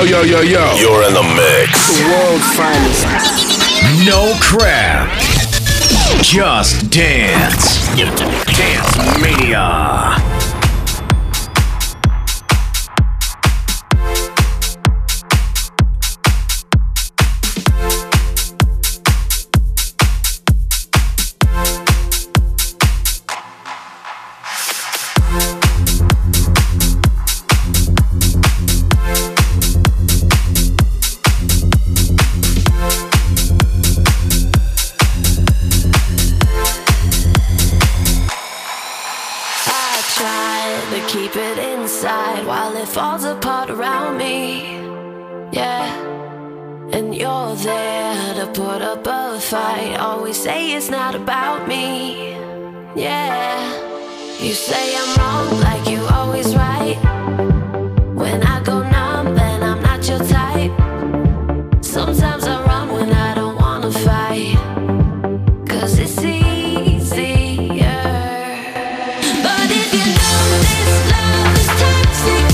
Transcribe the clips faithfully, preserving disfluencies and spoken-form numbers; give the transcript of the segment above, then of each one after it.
yo, yo, yo. You're in the mix. The world's finest. No crap. Just dance. Dance Mania. Falls apart around me, yeah. And you're there to put up a fight. Always say it's not about me, yeah. You say I'm wrong like you always right. When I go numb then I'm not your type. Sometimes I run when I don't wanna fight, 'cause it's easier. But if you know this love is toxic,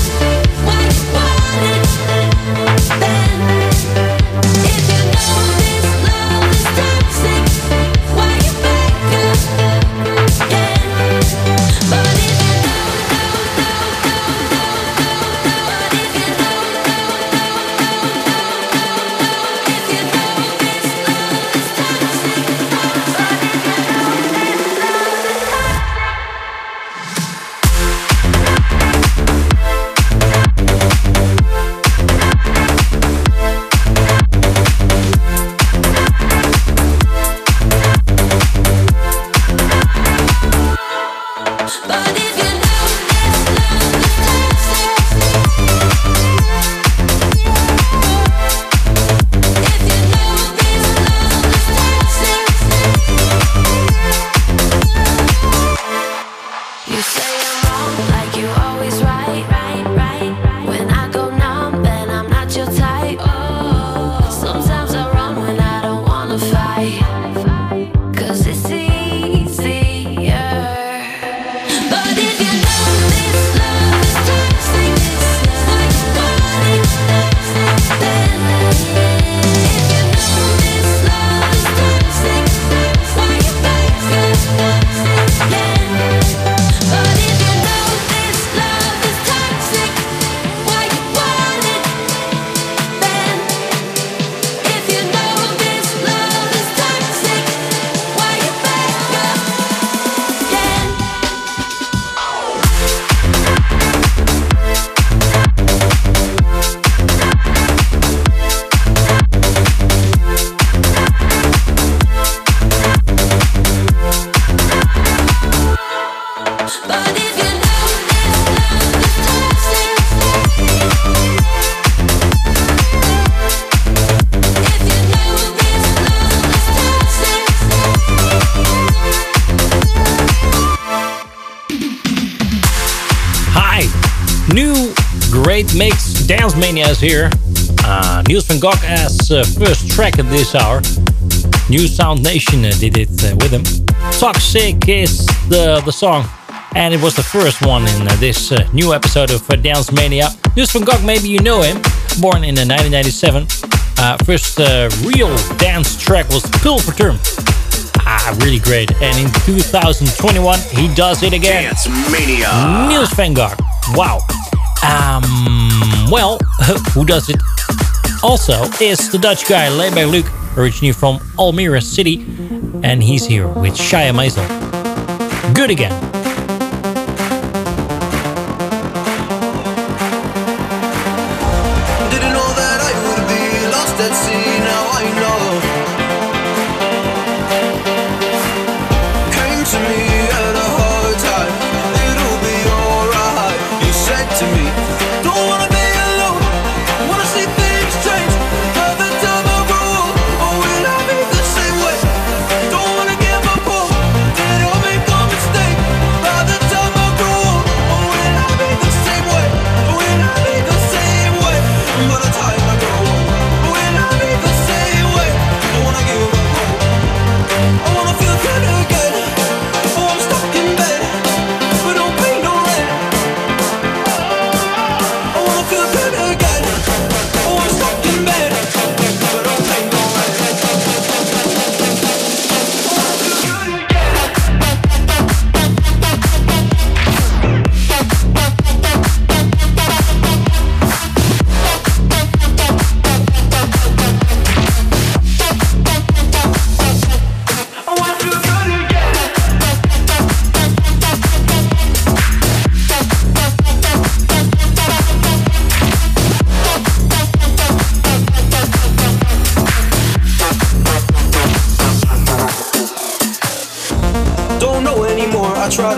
Mix Dance Mania is here. Uh, Niels van Gogh as uh, first track of this hour. New Sound Nation uh, did it uh, with him. Toxic is the, the song, and it was the first one in uh, this uh, new episode of uh, Dance Mania. Niels van Gogh, maybe you know him. Born in uh, nineteen ninety-seven. Uh, first uh, real dance track was Pulverturm. Ah, really great. And in two thousand twenty-one, he does it again. Dance Mania. Niels van Gogh. Wow. Um, well, who does it also is the Dutch guy Leibert Luc, originally from Almere City, and he's here with Shia Maisel. Good again. Didn't know that I would be lost at sea, now I know. Came to me at a hard time, it'll be alright. You said to me, don't wanna be alone, wanna see things change. Have the time I rule, or will I be the same way? Don't wanna give up hope, did I make a mistake?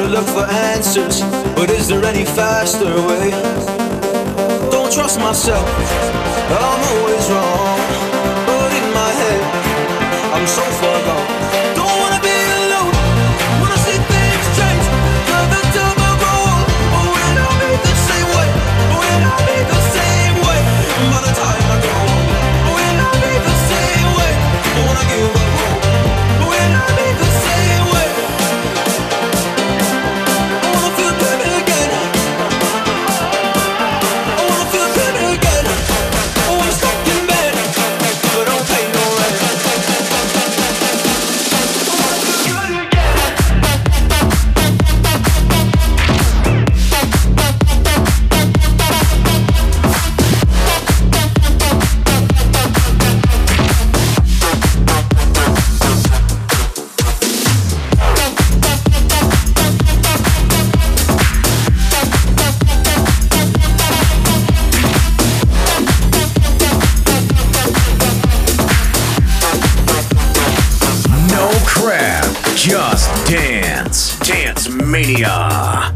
to look for answers, but is there any faster way? Don't trust myself, I'm always wrong. But in my head, I'm so far gone. Don't wanna be alone, wanna see things change. Got the time I roll, but will I be the same way? Will I be the same way? By the time I go home, will I be the same way? Don't wanna give up hope, will I be the same way? I wanna feel baby again, I wanna feel baby again. Oh, I'm stuck in bed, but I don't pay no rent. No crap, just dance. Dance Mania.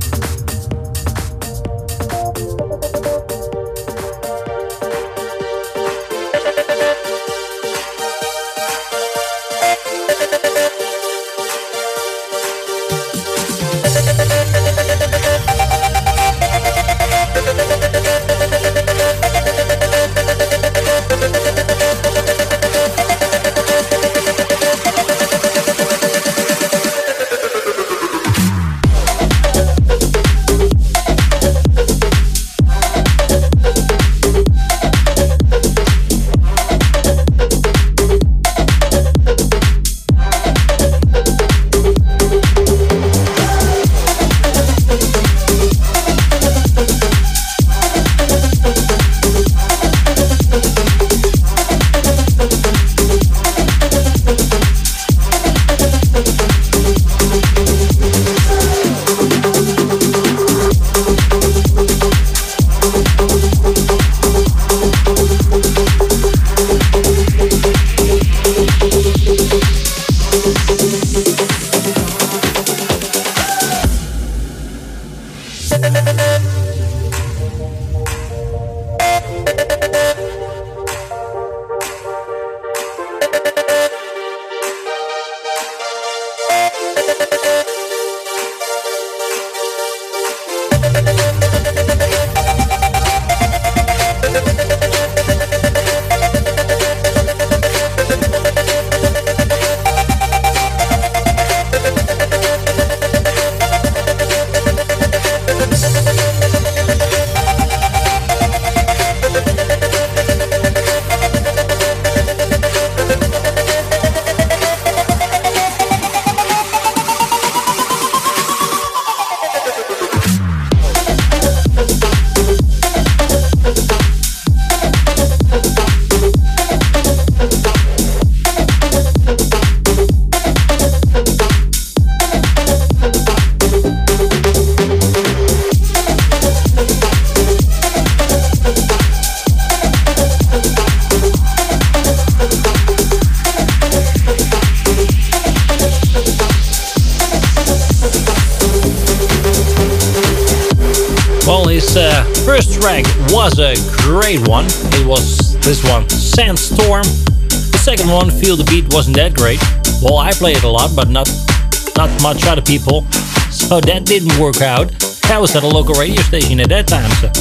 His uh, first track was a great one. It was this one, Sandstorm. The second one, Feel the Beat, wasn't that great. Well, I played it a lot, but not not much other people. So that didn't work out. I was at a local radio station at that time, so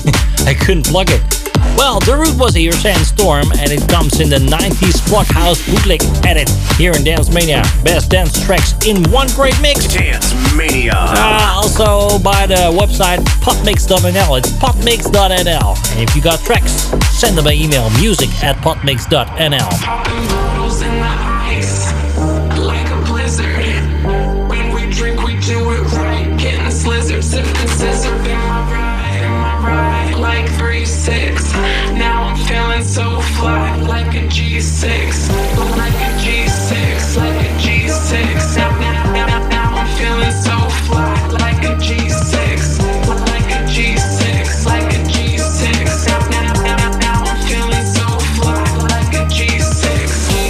I couldn't plug it. Well, the root was here, Sandstorm, and it comes in the nineties Plug House bootleg edit here in Dance Mania. Best dance tracks in one great mix. Dance Mania. Uh, also by the website potmix dot n l. It's potmix dot n l. And if you got tracks, send them by email, music at potmix dot n l. Popping bottles in the ice, like a blizzard. When we drink, we do it right. Getting slizzard, sipping scissor. Am I right? Am I right? Like three six. Now I'm feeling so fly, like a G six. Like a G six, like a G six. Now, now, now, now I'm feeling so fly, like a G six. Like a G six, like a G six. Now, now, now, now I'm feeling so fly, like a G six.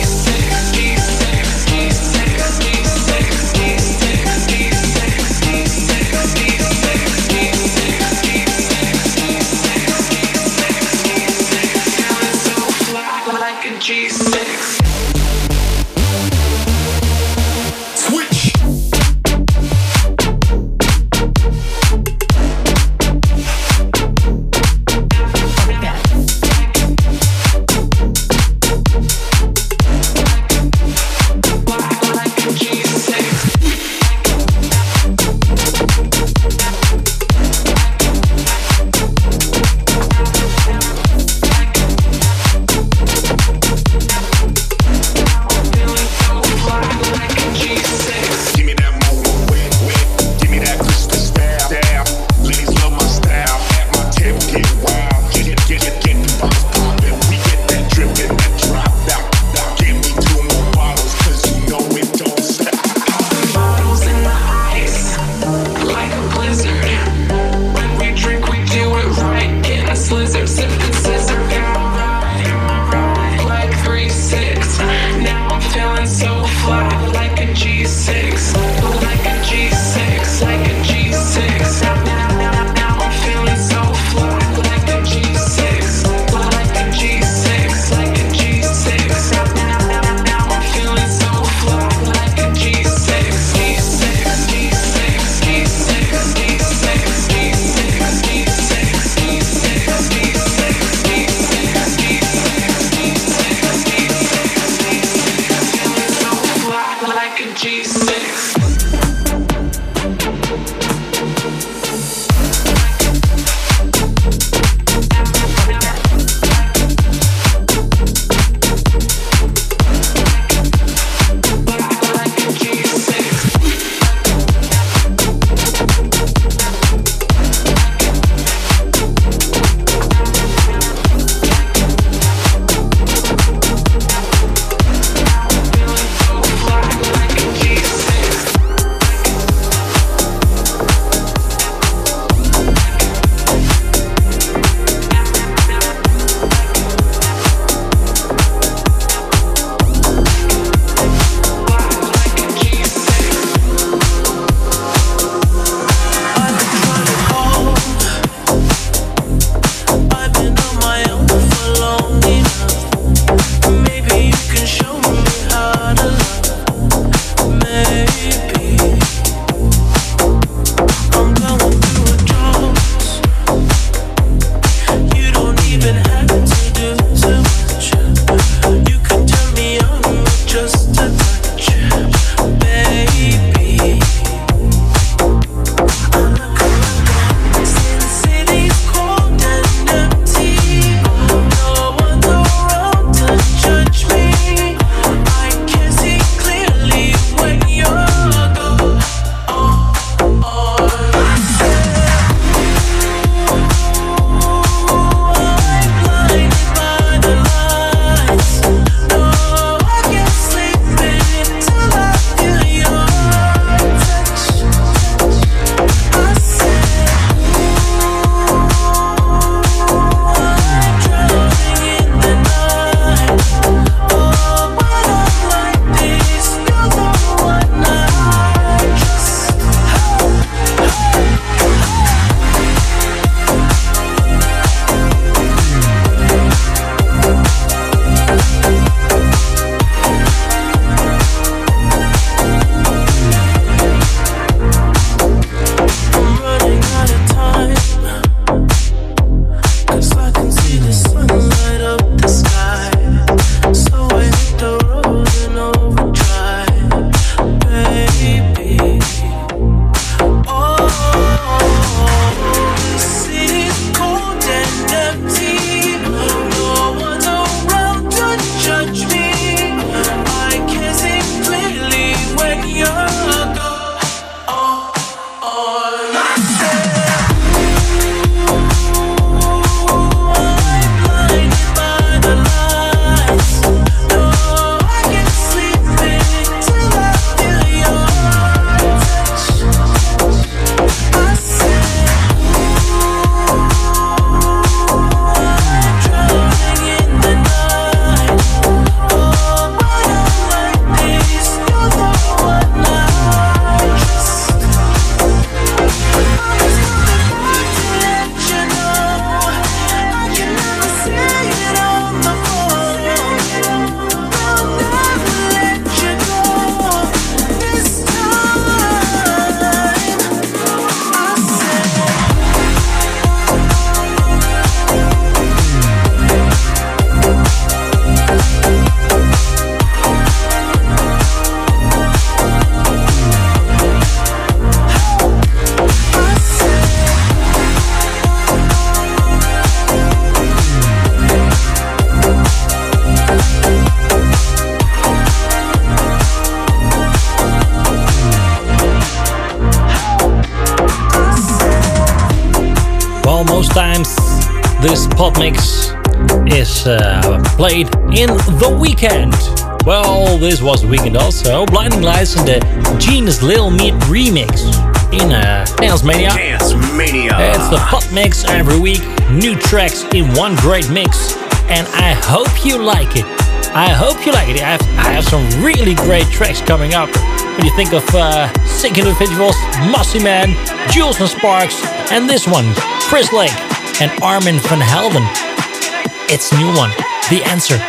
Sometimes this pop mix is uh, played in the weekend. Well, this was the weekend also. Blinding Lights and the Genius Lil Meat remix in uh, Dance Mania. Dance Mania. It's the pop mix every week. New tracks in one great mix. And I hope you like it. I hope you like it. I have, I have some really great tracks coming up. When you think of uh, sick individuals, Mossy Man, Jules and Sparks, and this one, Chris Lake and Armin van Helden. It's a new one, The Answer.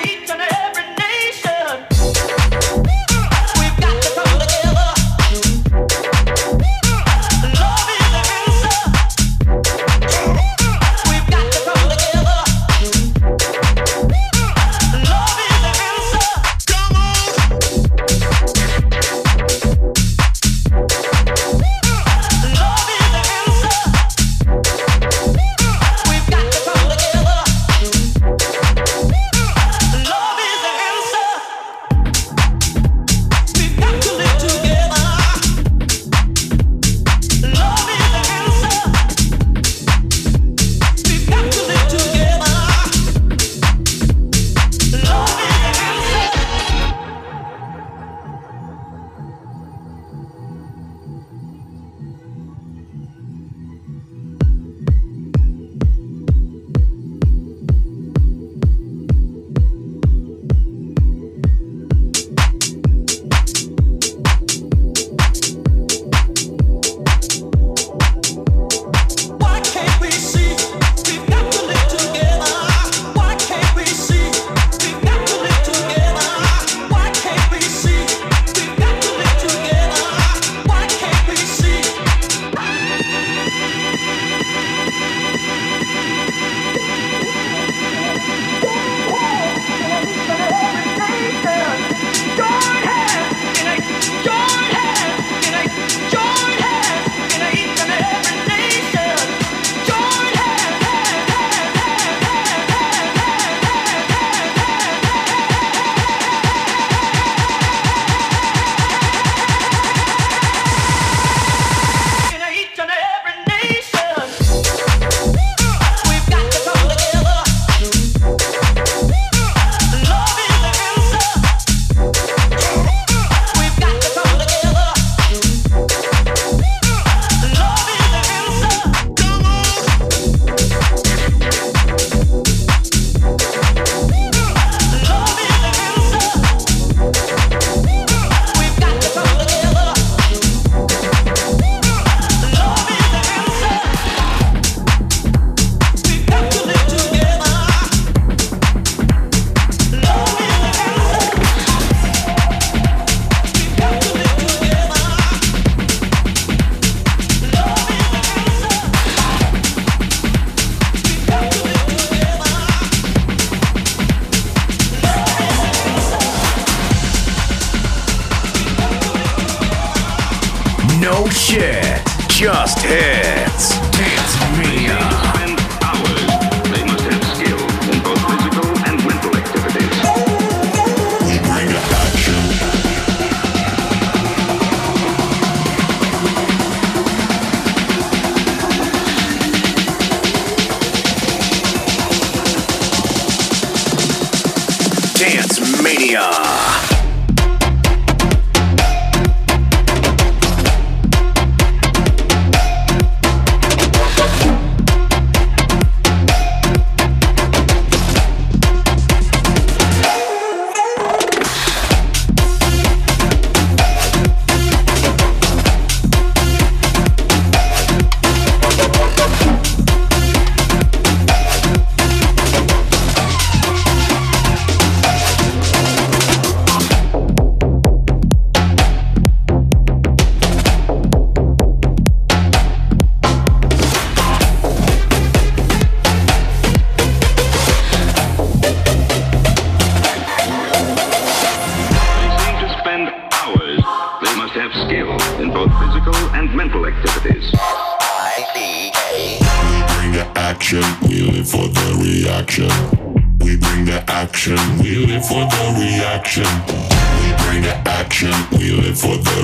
No shit, just hits. Dance Mania. Spend hours. They must have skill in both physical and mental activities. We bring it action. Dance Mania.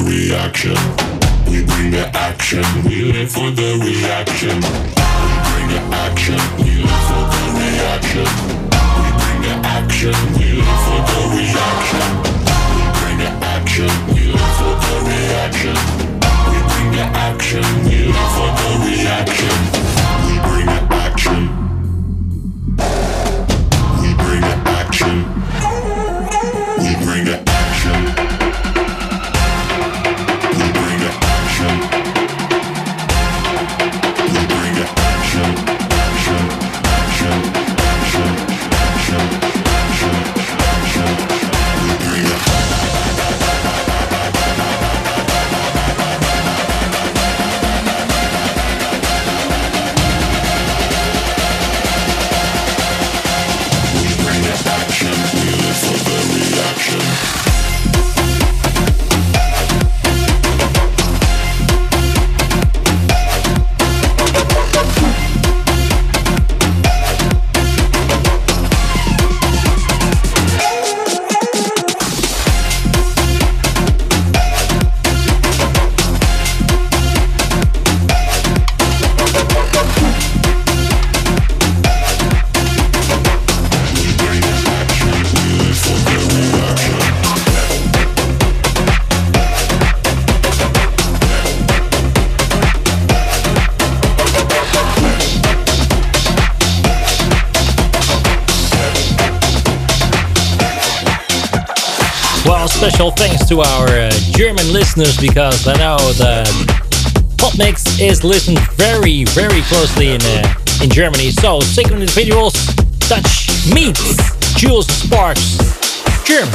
We bring the action, we live for the reaction. We bring Special thanks to our uh, German listeners, because I know the Hot Mix is listened very, very closely in uh, in Germany. So, Sacred Individuals, Dutch Meets, Jules Sparks, German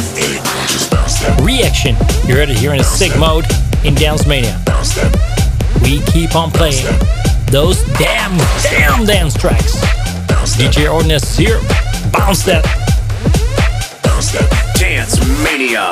Reaction. You heard it here in a sick mode in Dance Mania. We keep on playing those damn, damn dance tracks. D J Ordnance here, bounce that. Dance Mania.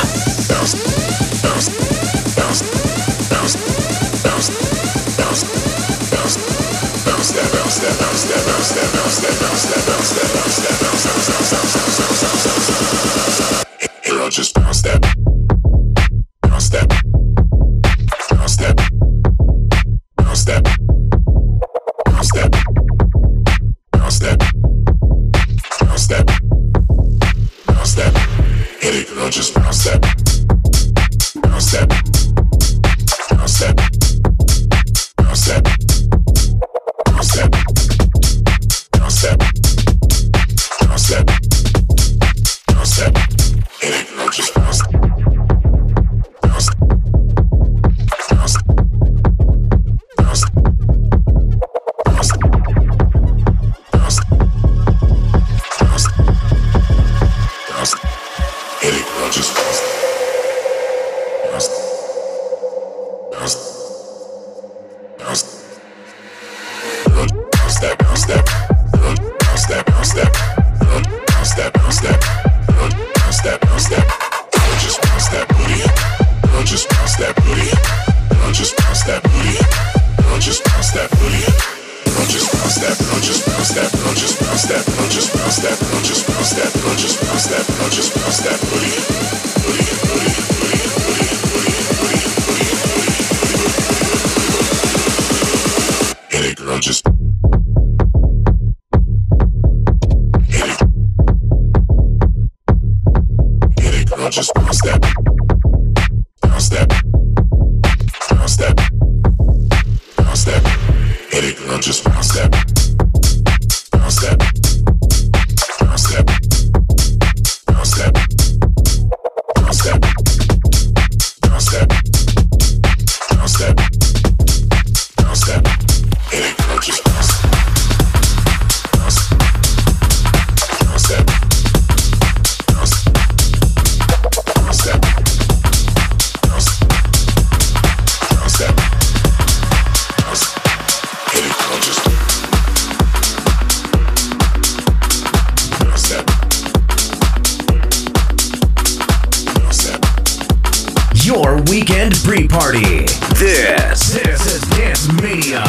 Girl, just bounce that. Bounce that. Bounce that. Bounce that. Bounce that. Bounce that. Bounce that. Bounce that. Hit it, girl, just bounce that. Bounce that. Bounce that. Bounce that. Bounce that. Bounce that. Bounce that. Bounce that. Hit it, girl, just bounce. Bounce. Bounce. Bounce. Bounce. Bounce. Bounce. Bounce. Hit it, girl, just bounce. Bounce. Bounce. Bounce. Girl, bounce that, bounce that. Girl, bounce that, bounce that. Girl, bounce that, bounce that. Girl, bounce that, bounce that. Girl, just bounce that booty. Girl, just bounce that booty. Girl, just bounce that booty. Girl, just bounce that booty. Girl, just bounce that. Girl, just bounce that. Girl, just bounce that. Girl, just bounce that. Girl, just bounce that. Girl, just bounce that. Girl, just bounce that booty. Booty, booty, booty, booty, booty, booty, booty, booty. Hit it, girl, just. Hit it. Hit it, girl, just bounce that. Bounce that. Bounce that. Bounce that. Hit it, girl, just bounce that. Bounce that. Bounce that. Bounce that. Bounce that. Bounce that. Bounce that. Bounce that. Hit it, girl, just bounce. Bounce. Bounce that. Bounce. Bounce that. Bounce. Bounce that. Bounce. Hit it, girl, just. Bounce that. Bounce that. Your weekend pre-party. This, this is Dance Mania.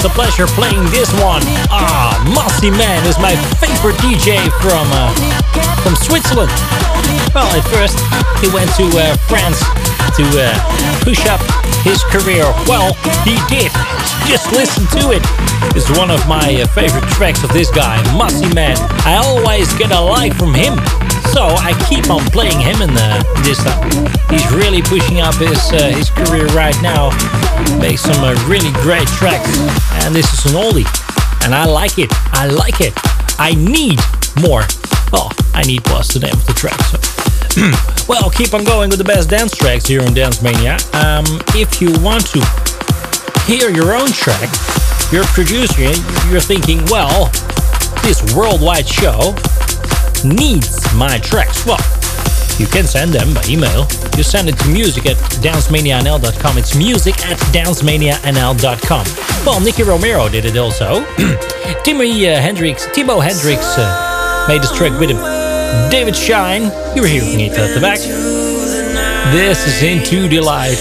always a pleasure playing this one. Ah, Mossy Man is my favorite D J from uh, from Switzerland. Well, at first he went to uh, France to uh, push up his career. Well, he did. Just listen to it. It's one of my uh, favorite tracks of this guy, Mossy Man. I always get a like from him, so I keep on playing him in uh, this time. He's really pushing up his uh, his career right now. Makes some uh, really great tracks, and this is an oldie, and I like it. I like it. I need more. Well, I need was the name of the track. So. Well, keep on going with the best dance tracks here on Dance Mania. Um, if you want to hear your own track, you're a producer, you're thinking, well, this worldwide show needs my tracks. Well, you can send them by email. You send it to music at dance mania n l dot com. It's music at dance mania n l dot com. Well, Nicky Romero did it also. Timmy uh, Hendrix, Timo Hendrix uh, made this track with him. David Shine, you were hearing it at the back. This is Into the Light.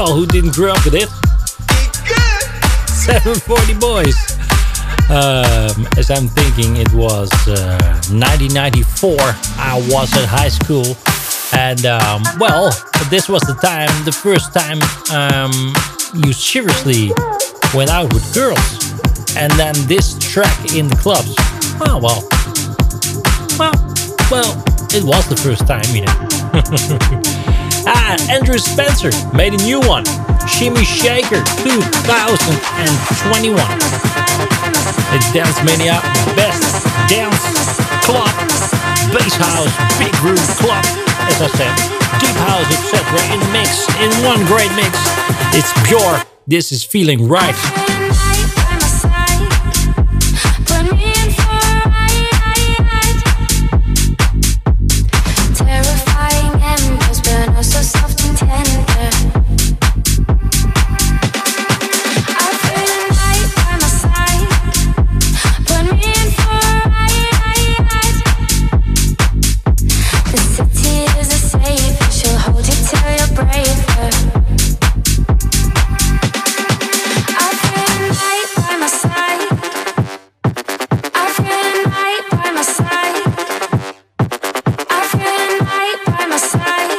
Well, who didn't grow up with it? seven forty Boys. Um, as I'm thinking, it was uh, nineteen ninety-four. I was at high school. And, um, well, this was the time, the first time um, you seriously went out with girls. And then this track in the clubs. Oh, well. Well, well, it was the first time, you know. Ah, Andrew Spencer made a new one. Shimmy Shaker two thousand twenty-one. It's Dance Mania, best dance club, bass house, big room club, as I said, deep house, et cetera in mix, in one great mix. It's pure. This is Feeling Right. So soft and tender. I feel right by my side. Put me in for a ride. The city is a safe. She'll hold you till you're braver. I feel right by my side. I feel right by my side. I feel right by my side.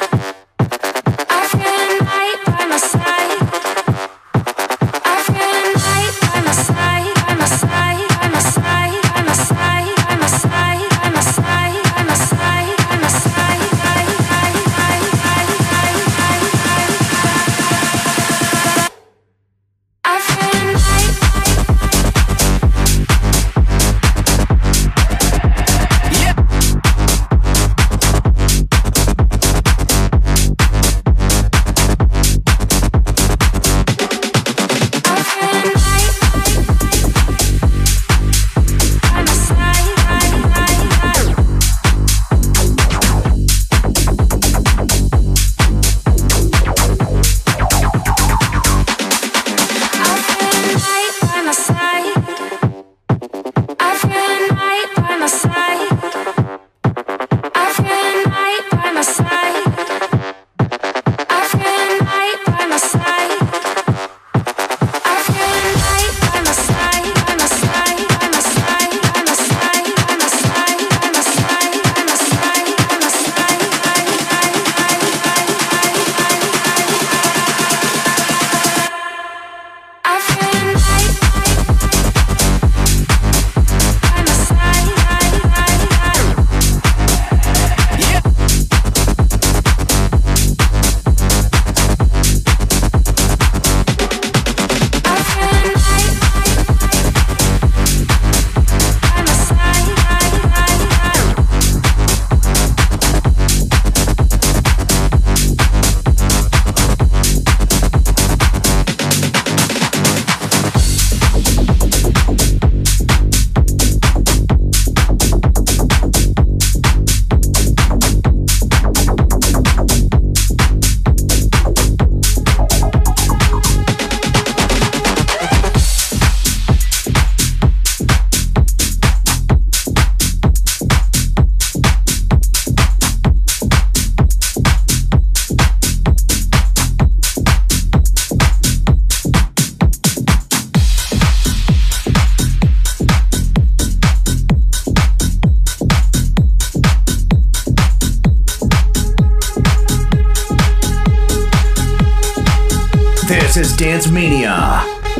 This is Dance Mania.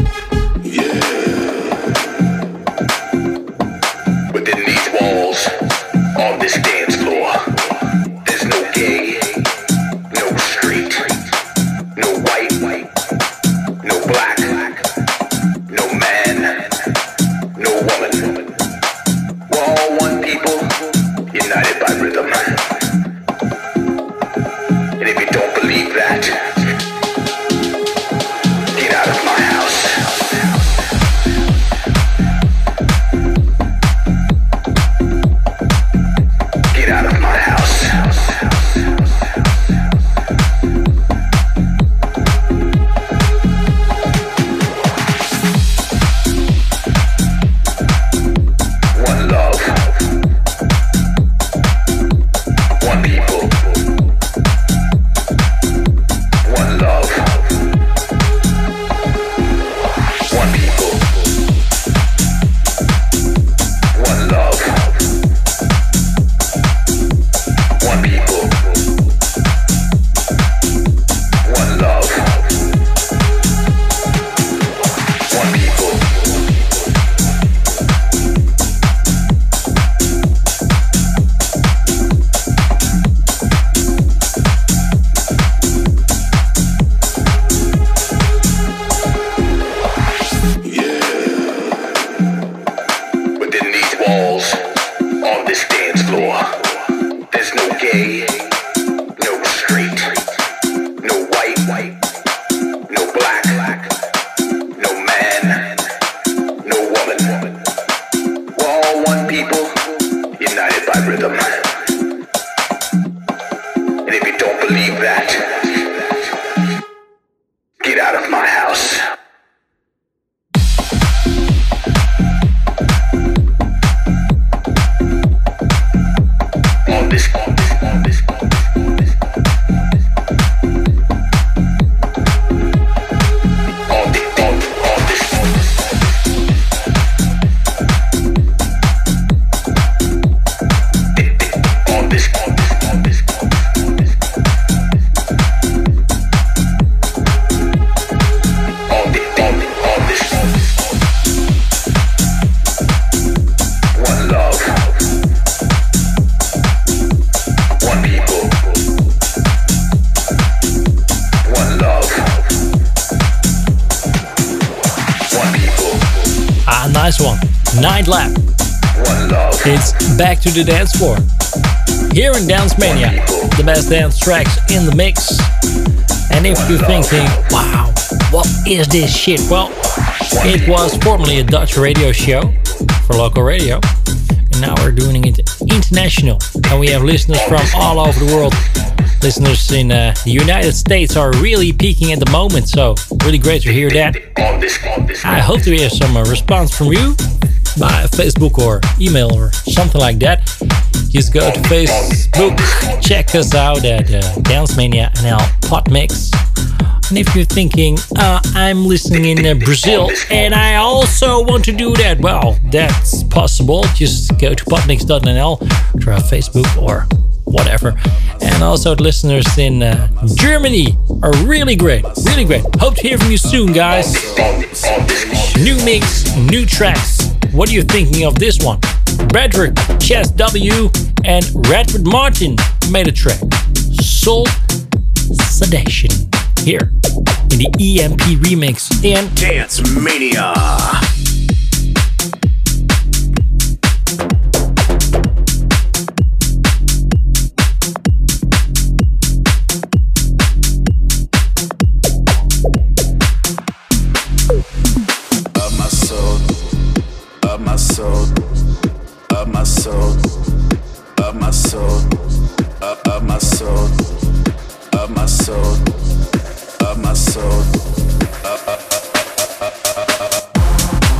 Within these walls, on this dance floor, there's no gay, no straight, no white, no black, no man, no woman. We're all one people, united by rhythm. And if you don't believe that, get out of my house. people, united by rhythm. And if you don't believe that, get out of my house. On this, on this, on this, on this, on this. On this, on, on this, on this. On this, on this, on this, on this, on this. On this, on this, on this, on this. One love. One people. One love. One people. Ah, nice one. Night Lab. One love. It's back to the dance floor. Here in Dance Mania, the best dance tracks in the mix. And if you're thinking, wow, what is this shit? Well, it was formerly a Dutch radio show for local radio. And now we're doing it international. And we have listeners from all over the world. Listeners in uh, the United States are really peaking at the moment. So really great to hear that. On this, on this. I hope to hear some uh, response from you by Facebook or email or something like that. Just go to Facebook, check us out at uh, Dance Mania N L Podmix. And if you're thinking, uh, I'm listening in uh, Brazil and I also want to do that, well, that's possible. Just go to podmix dot n l, try Facebook or whatever. And also the listeners in uh, Germany are really great, really great. Hope to hear from you soon, guys. New mix, new tracks. What are you thinking of this one? Bradrick, Chess W, and Redford Martin made a track. Soul Sedation. Here in the E M P remix in Dance Mania. Of my soul, of my soul, of my soul, of my soul, of, of my soul, of my soul, of my soul, of, of, of, of, of, of.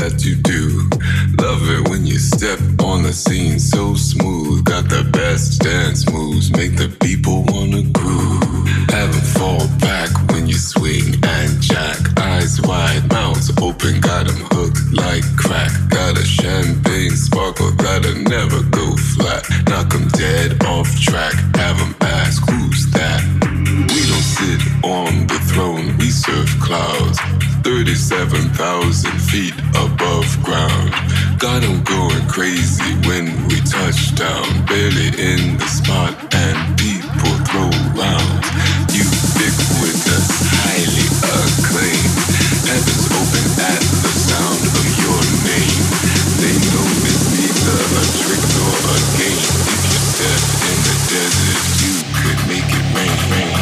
that you do. Love it when you step on the scene so smooth. Got the best dance moves, make the people wanna groove. Have 'em fall back when you swing and jack. Eyes wide, mouths open, got 'em hooked like crack. Got a champagne sparkle that'll never go flat. Knock 'em dead off track, have 'em ask who's that. We don't sit on the throne, we serve clouds. thirty-seven thousand feet above ground. Got 'em going crazy when we touch down. Barely in the spot and people throw rounds. Ubiquitous, highly acclaimed. Heavens open at the sound of your name. They know it's neither a trick nor a game. If you step in the desert, you could make it rain, rain.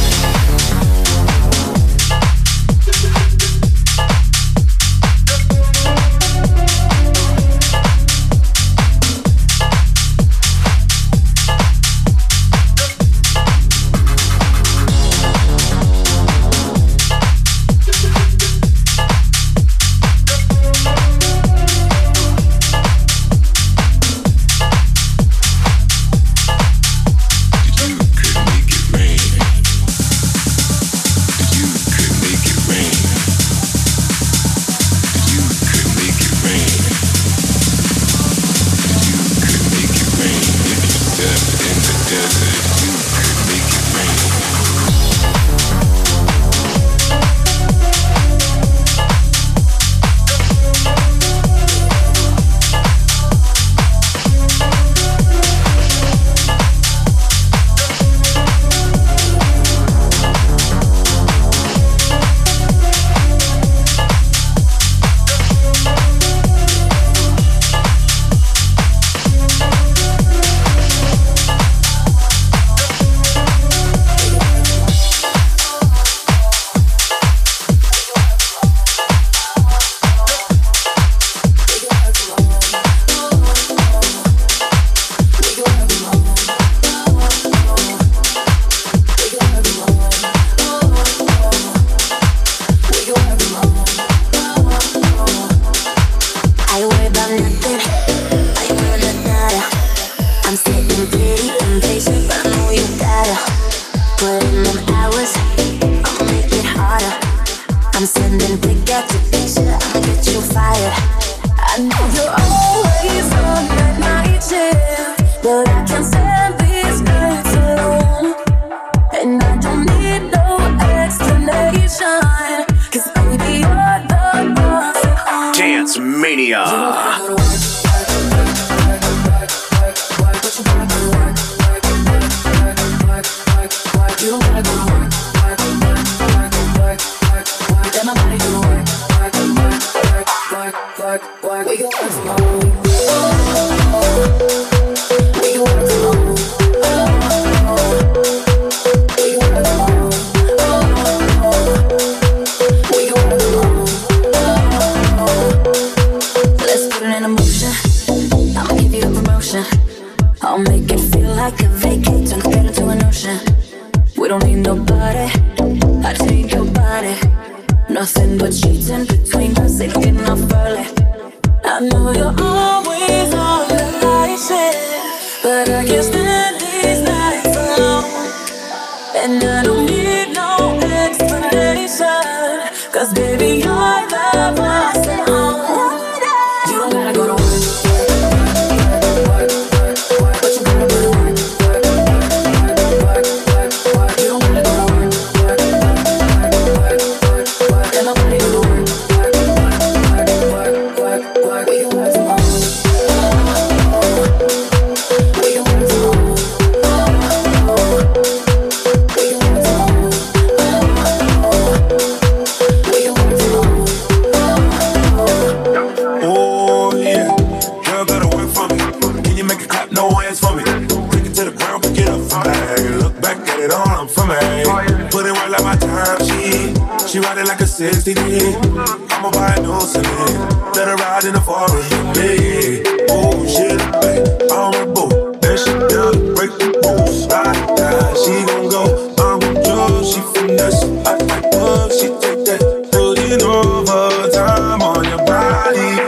I'ma buy a new cement. Let her ride in the forest. Yeah, oh shit, babe, I'm a boo. That shit down, break the rules. Ride, ride, she gon' go. I'm gon' judge, she finesse. I like love, she take that. Putting overtime on your body.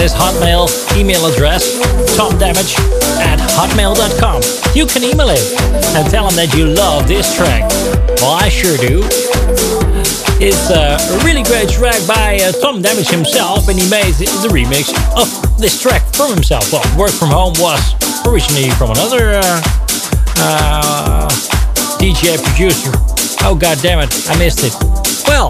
his Hotmail email address, tomdamage at hotmail dot com. You can email him and tell him that you love this track. Well, I sure do. It's a really great track by uh, Tom Damage himself, and he made the remix of this track from himself. Well, Work From Home was originally from another uh, uh, D J producer. Oh, god damn it, I missed it. Well,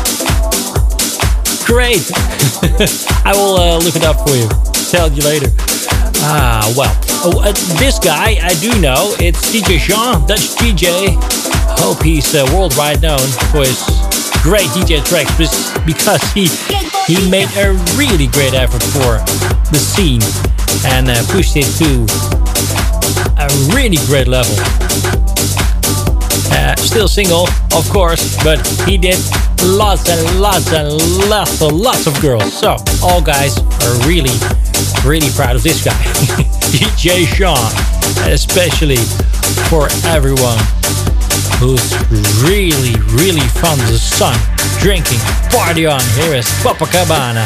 great. I will uh, look it up for you. Tell you later. Ah, well. Oh, uh, this guy, I do know. It's D J Sean, Dutch D J. Hope he's uh, worldwide known for his great D J tracks because he he made a really great effort for the scene and uh, pushed it to a really great level. Uh, still single, of course, but he did lots and lots and lots and lots of girls. So all guys are really, really proud of this guy, D J Sean, especially for everyone who's really, really fond of the sun, drinking, party on. Here is Copacabana.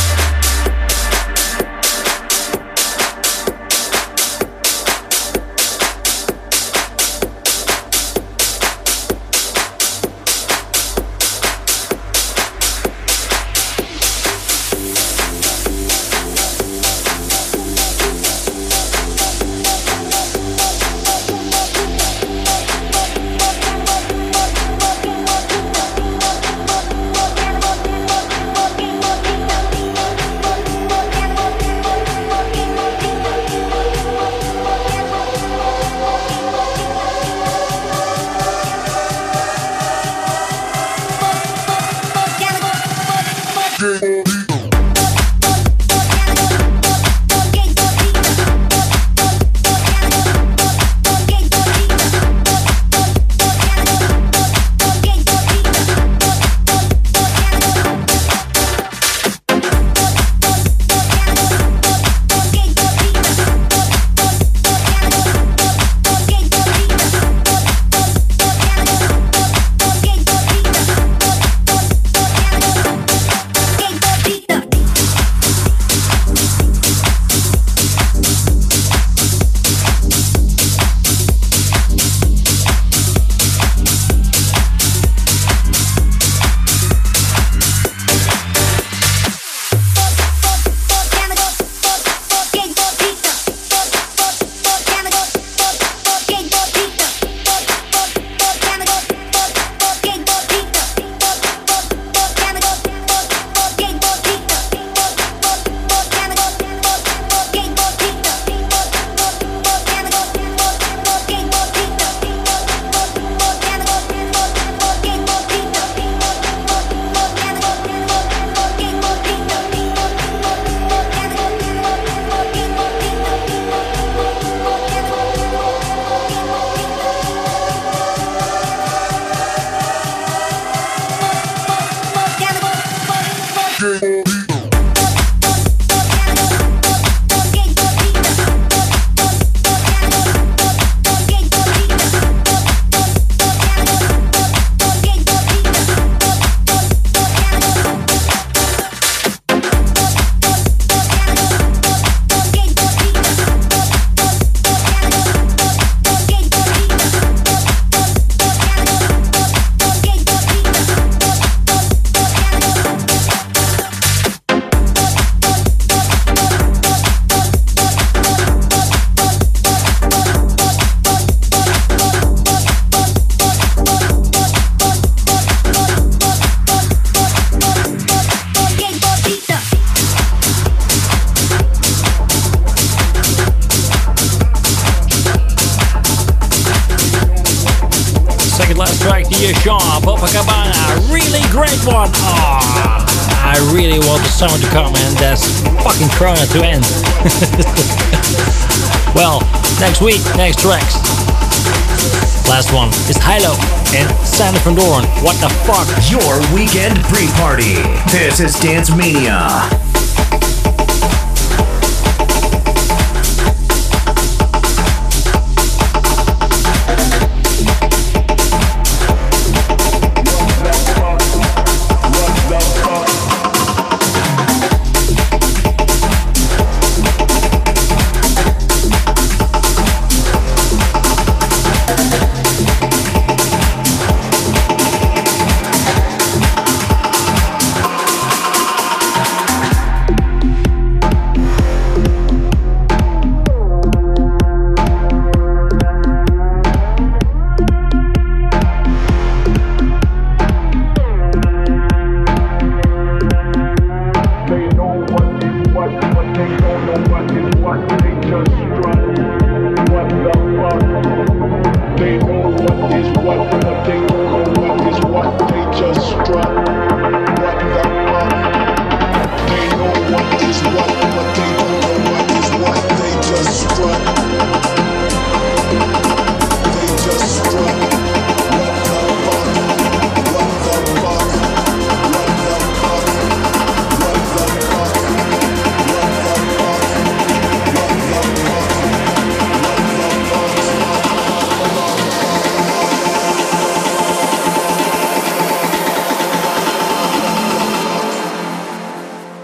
Copacabana, really great one. Oh, I really want the summer to come and that's fucking Corona to end. Well, next week, next tracks. Last one is Hilo and Sander van Doorn. What the fuck? Your weekend pre-party. This is Dance Mania.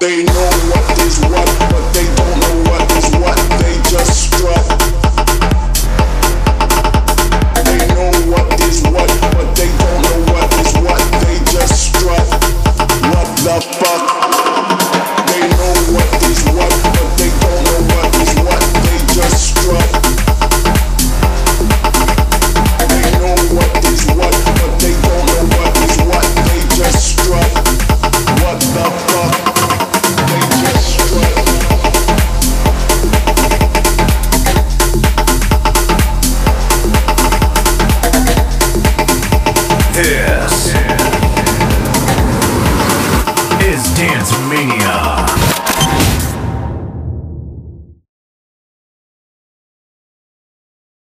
They know what is what, but they don't know what is what. They just strut. They know what is what, but they don't know what is what. They just strut. What the fuck? They know what is what, but they don't know what is what. They just strut. They know what is what, but they don't know what is what. They just strut. What the fuck? They just strut. This is Dance Mania.